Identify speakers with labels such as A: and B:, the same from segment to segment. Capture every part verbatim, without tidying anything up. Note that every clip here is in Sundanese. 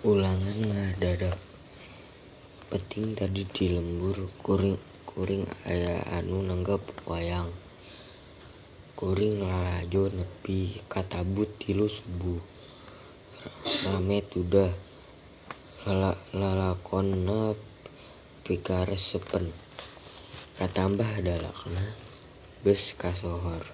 A: Ulangan ngadadak penting tadi di lembur kuring kuring aya anu nanggap wayang. Kuring lalajo nepi ka tabut tilu subuh. Rame tudah lalakonna pikaresepen. Katambah dalakna geus kasohor.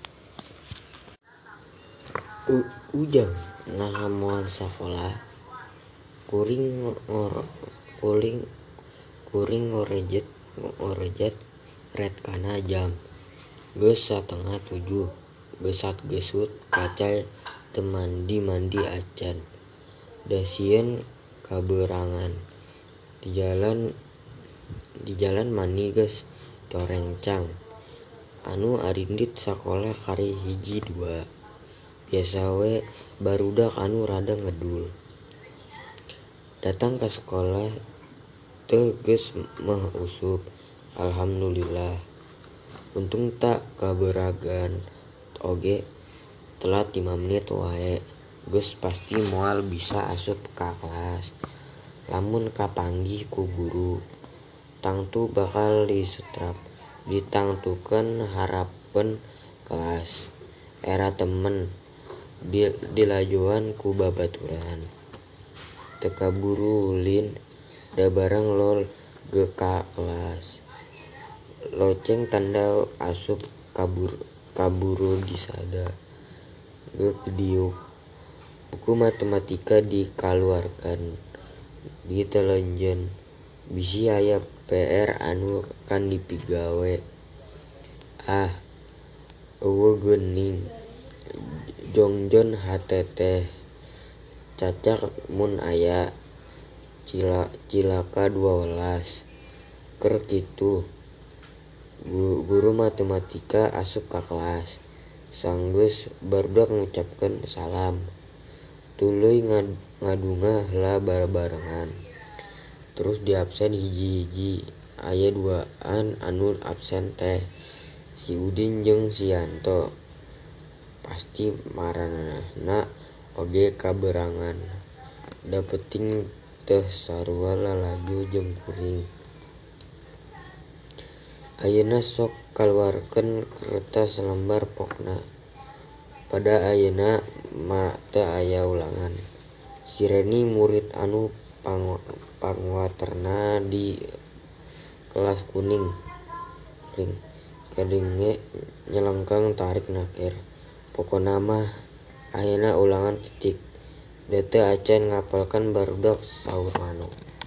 A: U- ujang naha moal sakola. Kuring ngor kuring kuring ngorejet ngorejet ret kana jam. Geus satengah tujuh. Geusat geusut kaca teu mandi-mandi acan. Da sieun kabeurangan. Di jalan di jalan mani geus corencang. Anu arindit sakola kari hiji dua. Biasa we barudak anu rada ngedul. Datang ka sekolah teu geus meh usup. Alhamdulillah. Untung tak kabeuragan oge telat lima menit wae. Geus pasti moal bisa asup ka kelas. Lamun kapanggih ku guru, tangtu bakal disetrap. Ditangtukeun harepan kelas. Era temen dilajoan ku babaturan. Teu kaburu ulin da bareng lol ge ka kelas. Loceng tanda asup kabur kaburu disada. Ge diuk. Buku matematika dikaluarkan. Ditelenjeun. Bisi aya P R anu kan dipigawe. Ah, eueuh geuning. Jongjon hateteh. Cacak mun aya cila cilaka dua welas. Keur kitu guru matematika asup ka kelas. Sanggeus barudak ngucapkeun salam. Tuluy ngadunga heula barengan. Terus diabsen hiji-hiji. Aya duaan anu absen teh si Udin jeung si Yanto. Pasti maranehna oge kabeurangan. Da penting teu sarua lalajo jeung kuring. Ayeuna sok kaluarkeun kertas lembar pokna. Pada ayeuna mah teu aya ulangan. Si Reni murid anu pangwaterna di kelas kuring. Kadenge nyelengkang tarik nakir. Pokona mah ayeuna ulangan titik. Da teu acan ngapalkan barudak saur manuk.